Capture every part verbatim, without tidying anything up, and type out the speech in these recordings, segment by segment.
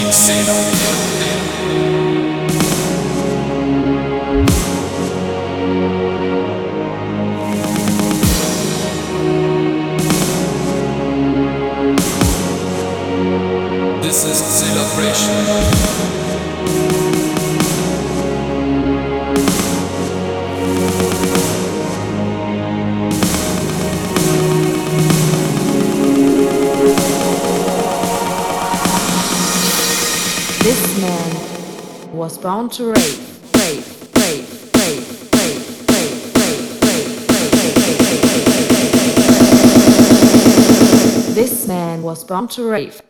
This is celebration. This man was born to rave, rave, rave, rave, rave, rave, rave, rave, rave. This man was born to rave.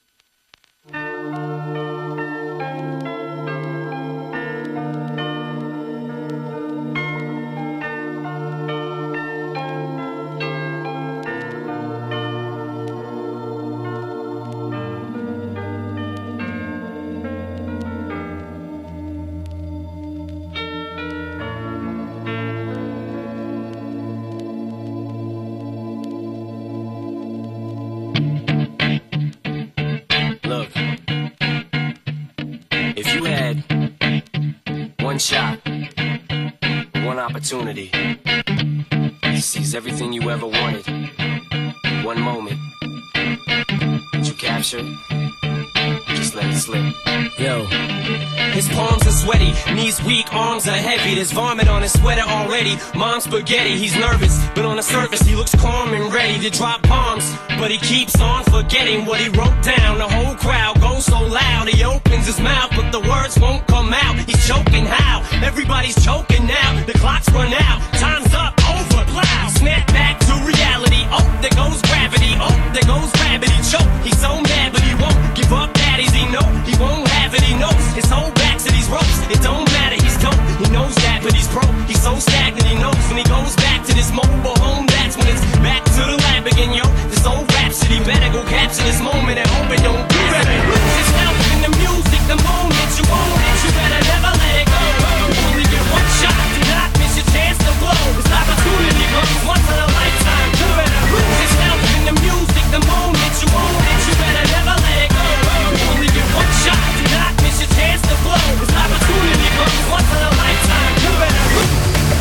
Shot, one opportunity to seize everything you ever wanted. One moment that you captured, just let it slip. Yo. His palms are sweaty, knees weak, arms are heavy. There's vomit on his sweater already. Mom's spaghetti, he's nervous, but on the surface he looks calm and ready to drop bombs. But he keeps on forgetting what he wrote down. The whole crowd goes so loud, he opens his mouth, but the words won't come out. He's choking how? Everybody's choking now. The clock's run out, time's up, over, plow. Snap back to reality. Oh, there goes gravity. Oh, there goes gravity. Choke. He's so mad, but he won't give up. Daddies, he know he won't have it. He knows his whole back to these ropes. It don't matter, he's dope. He knows that, but he's broke. He's so stagnant. He knows when he goes back to this mobile home. That's when it's back to the lab again, yo. This old rhapsody better go capture this moment and hope it don't. You better lose yourself in the music. The moment you own it, you better never let it go. You only get one shot. Do not miss your chance to blow. This opportunity comes once in a lifetime. You better lose yourself in the music. The moment you own it, you better never let it go. You only get one shot. Do not miss your chance to blow. This opportunity comes once in a lifetime. You better lose.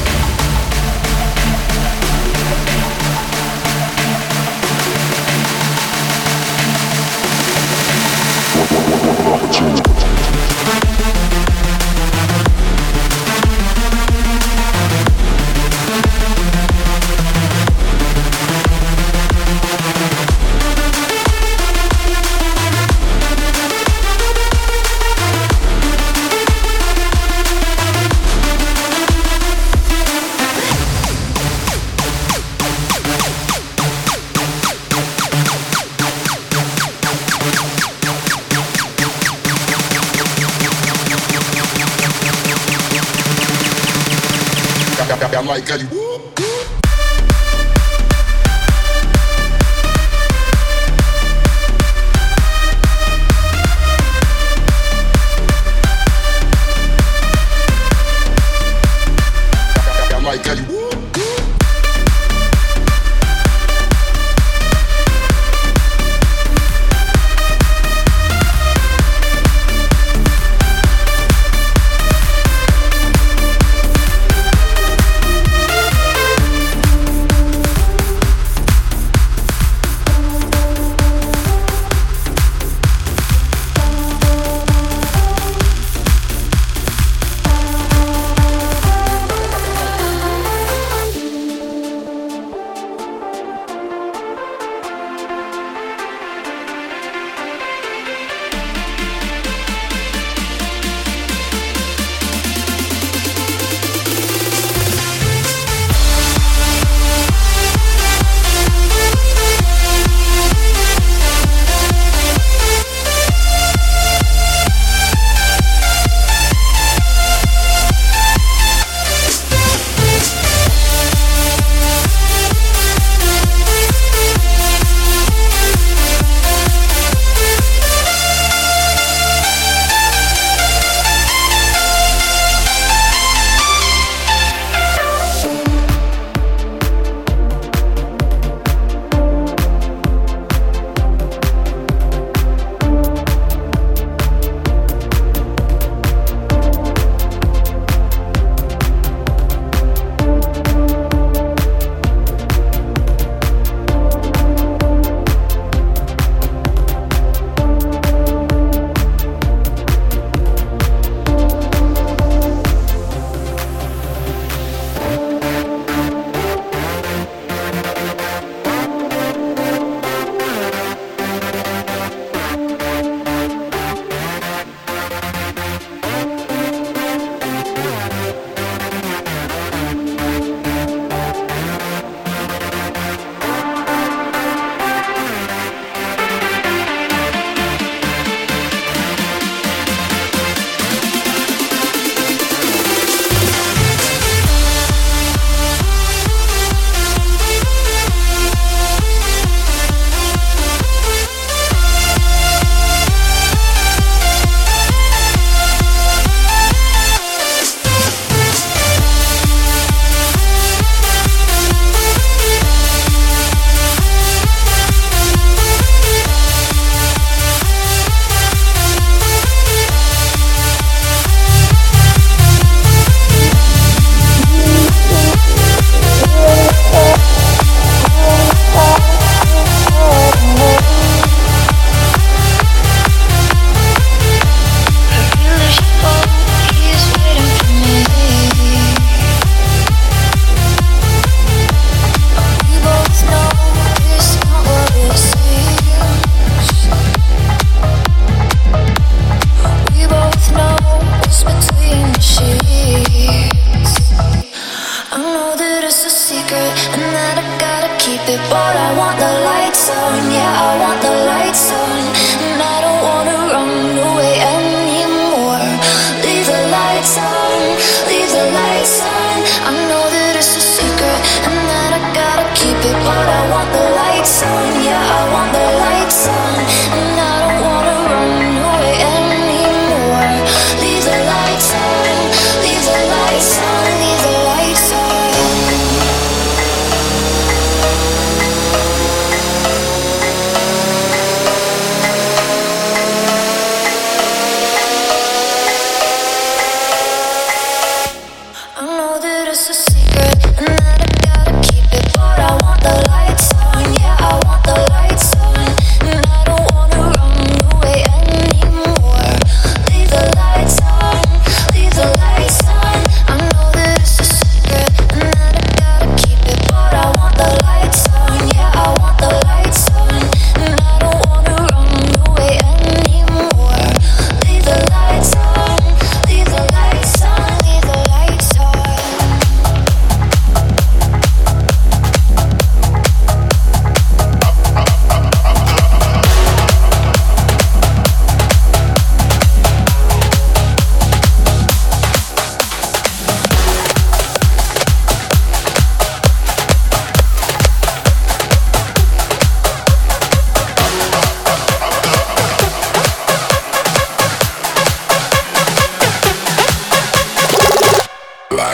I like how you I like how you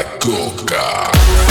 Black Coca.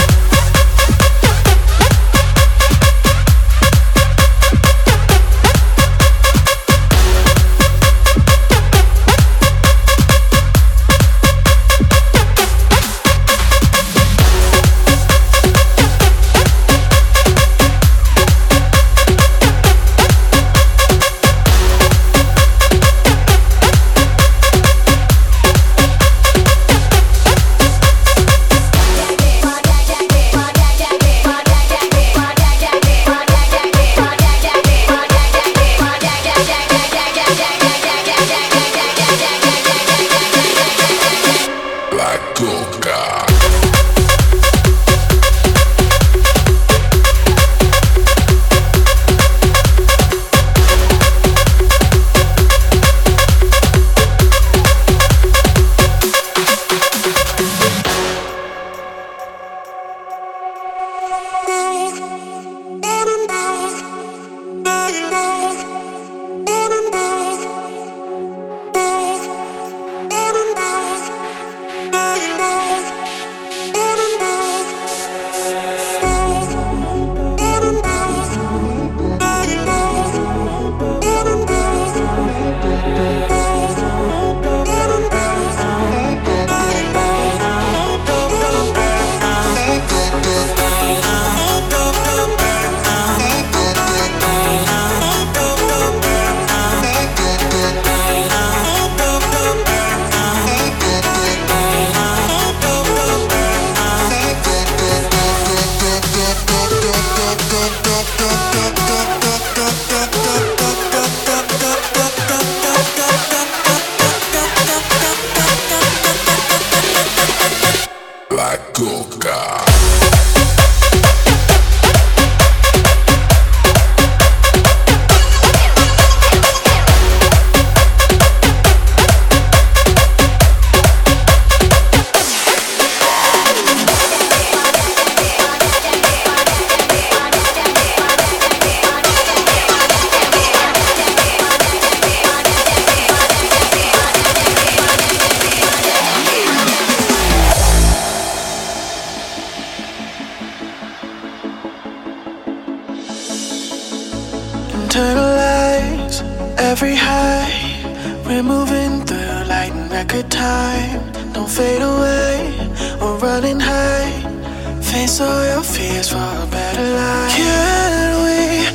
Internalize every high. We're moving through light and record time. Don't fade away or running high. Face all your fears for a better life. Can we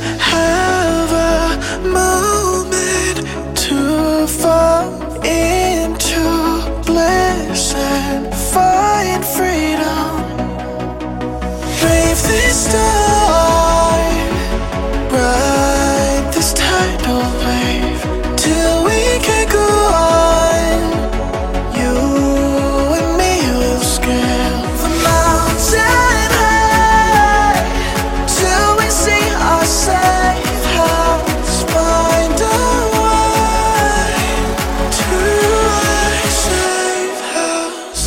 have a moment to fall into bliss and find freedom? Brave this time, ride this tidal wave till we can go on. You and me will scale the mountain high till we see our safe house. Find a way to our safe house.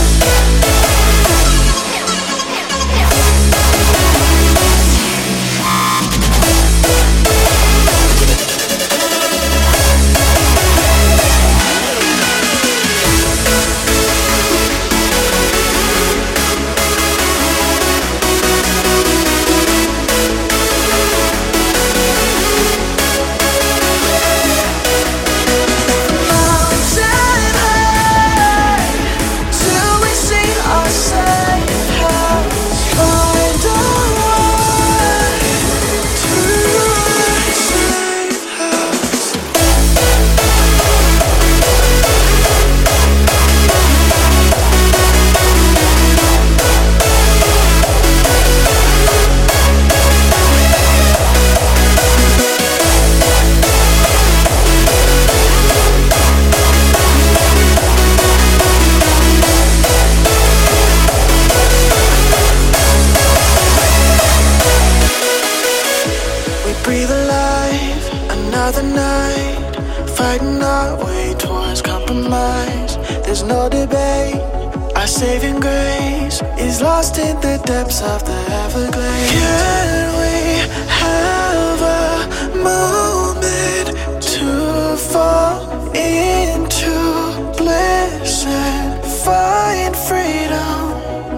Breathe alive, another night, fighting our way towards compromise. There's no debate, our saving grace is lost in the depths of the Everglades. Can we have a moment to fall into bliss and find freedom?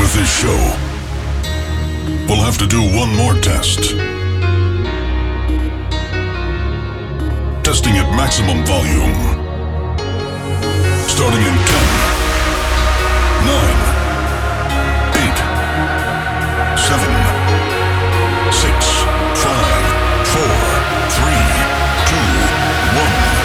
with this show, we'll have to do one more test. Testing at maximum volume. Starting in ten, nine, eight, seven, six, five, four, three, two, one.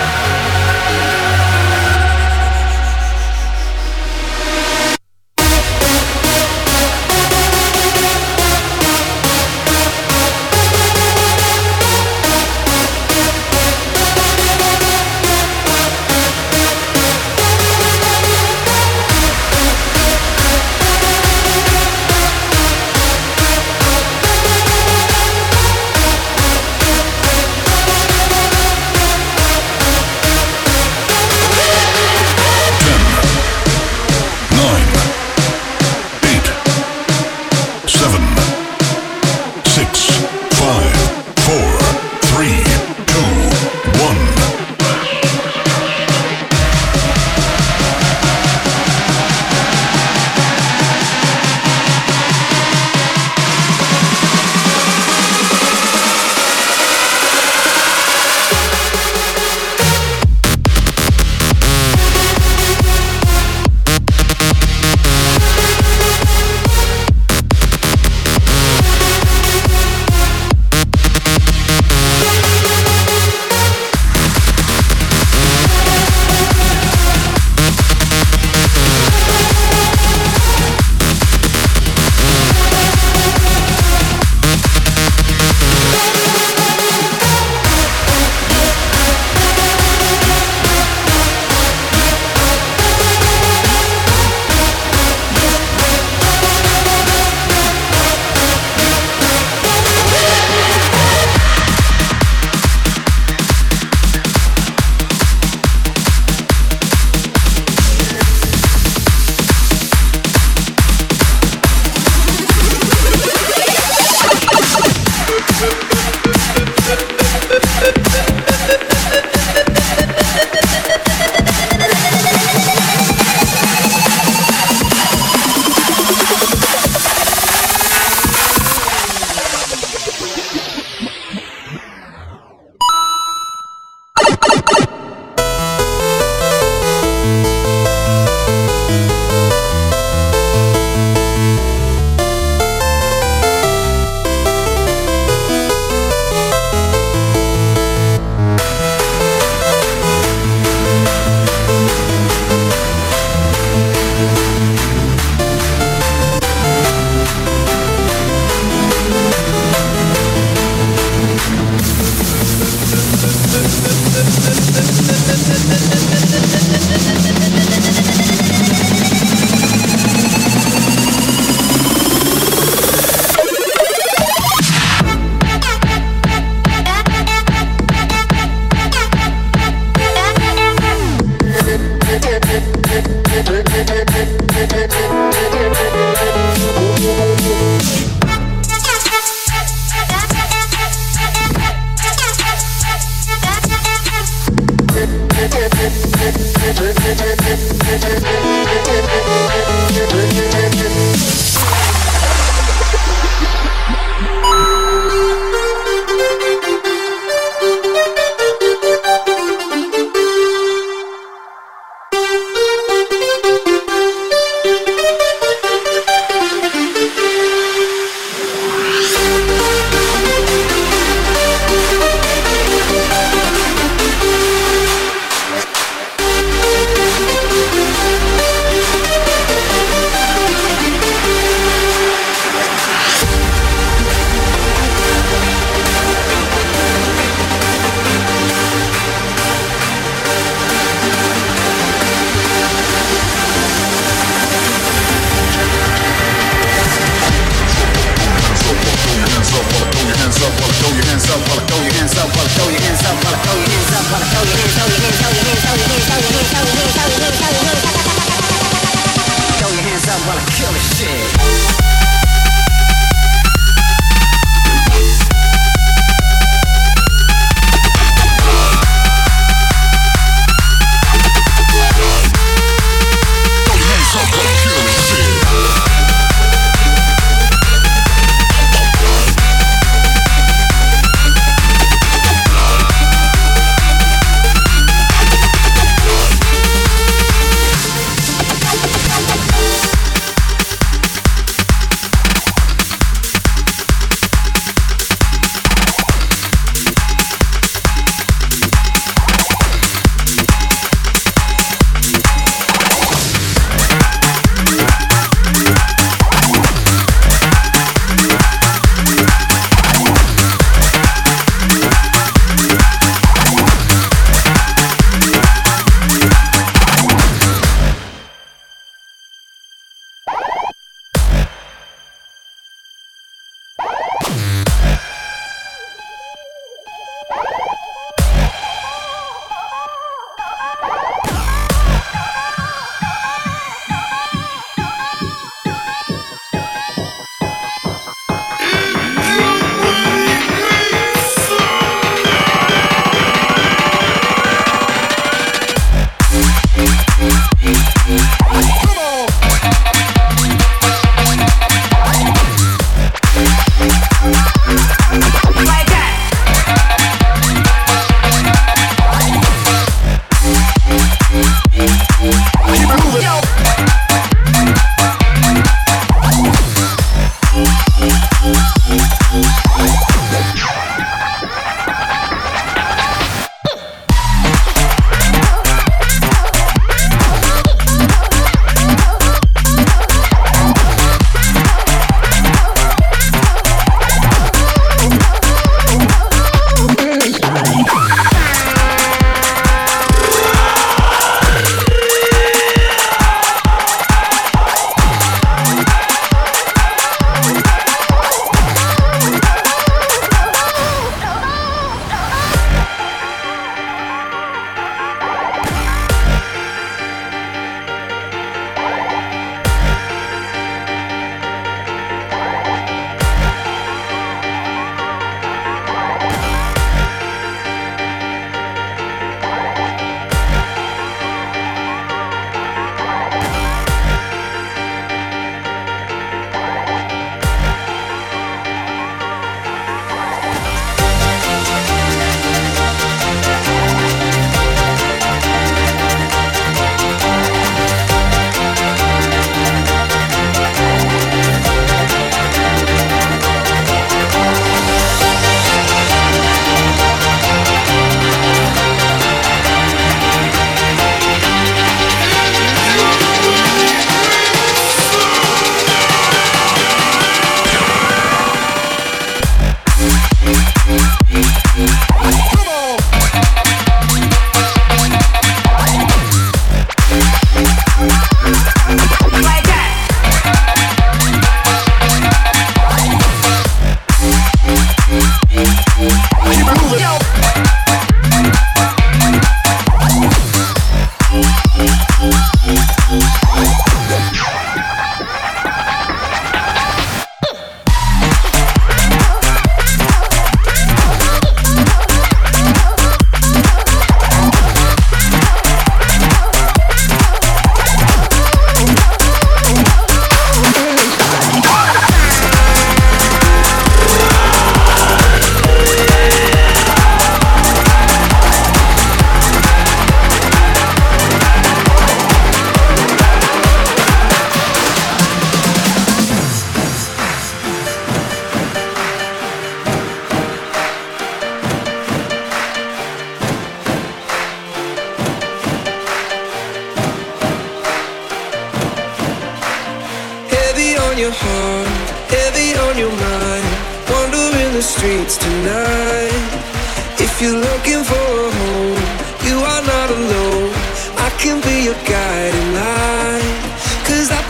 your heart, heavy on your mind, wandering the streets tonight. If you're looking for a home, you are not alone. I can be your guiding light, 'cause I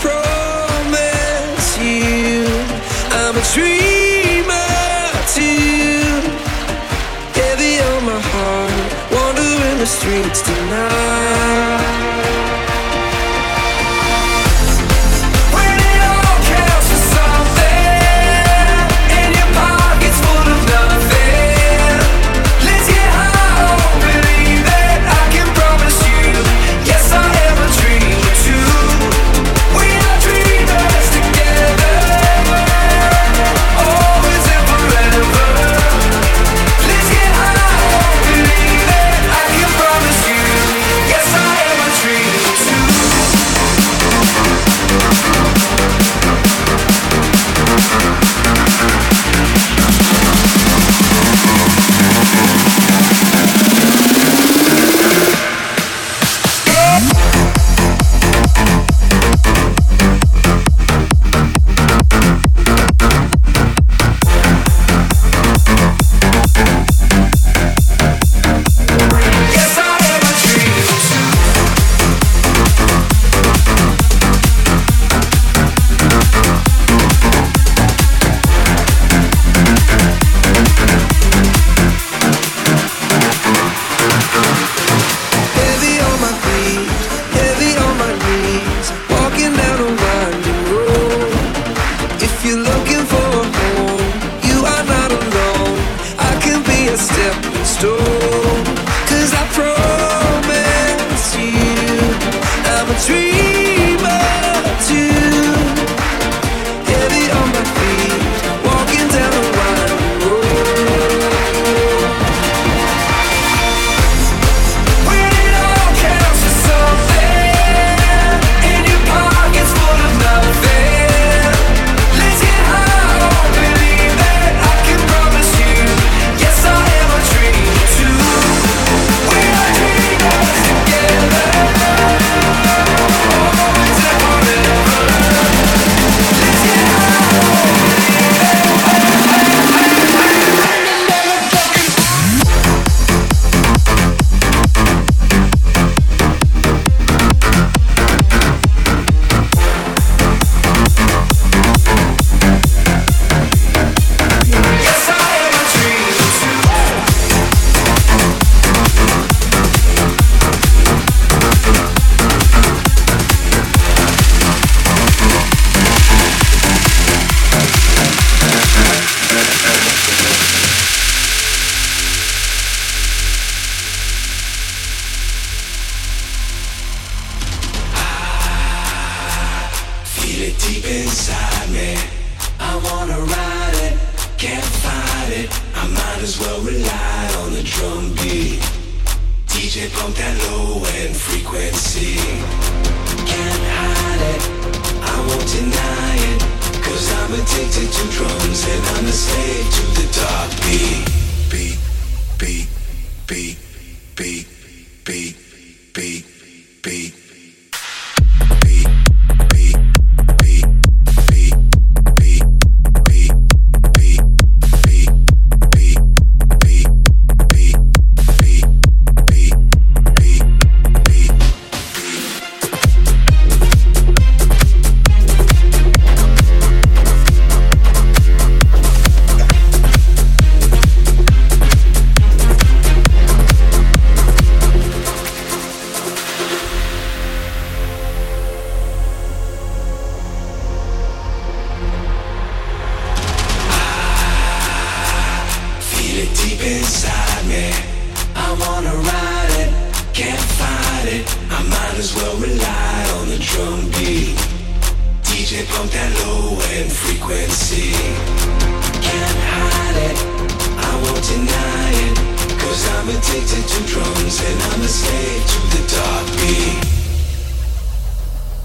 promise you I'm a dreamer too. Heavy on my heart, wandering the streets tonight.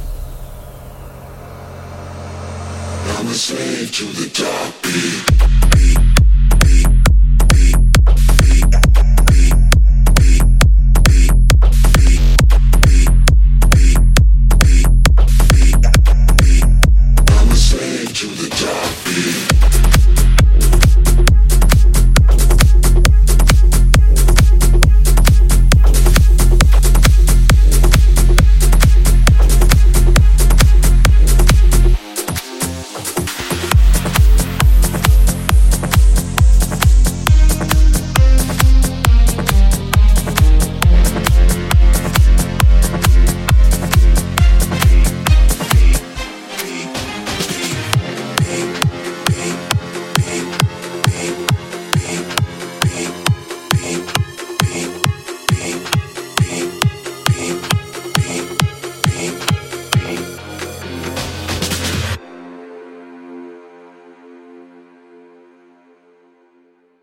I'm a slave to the dark beat.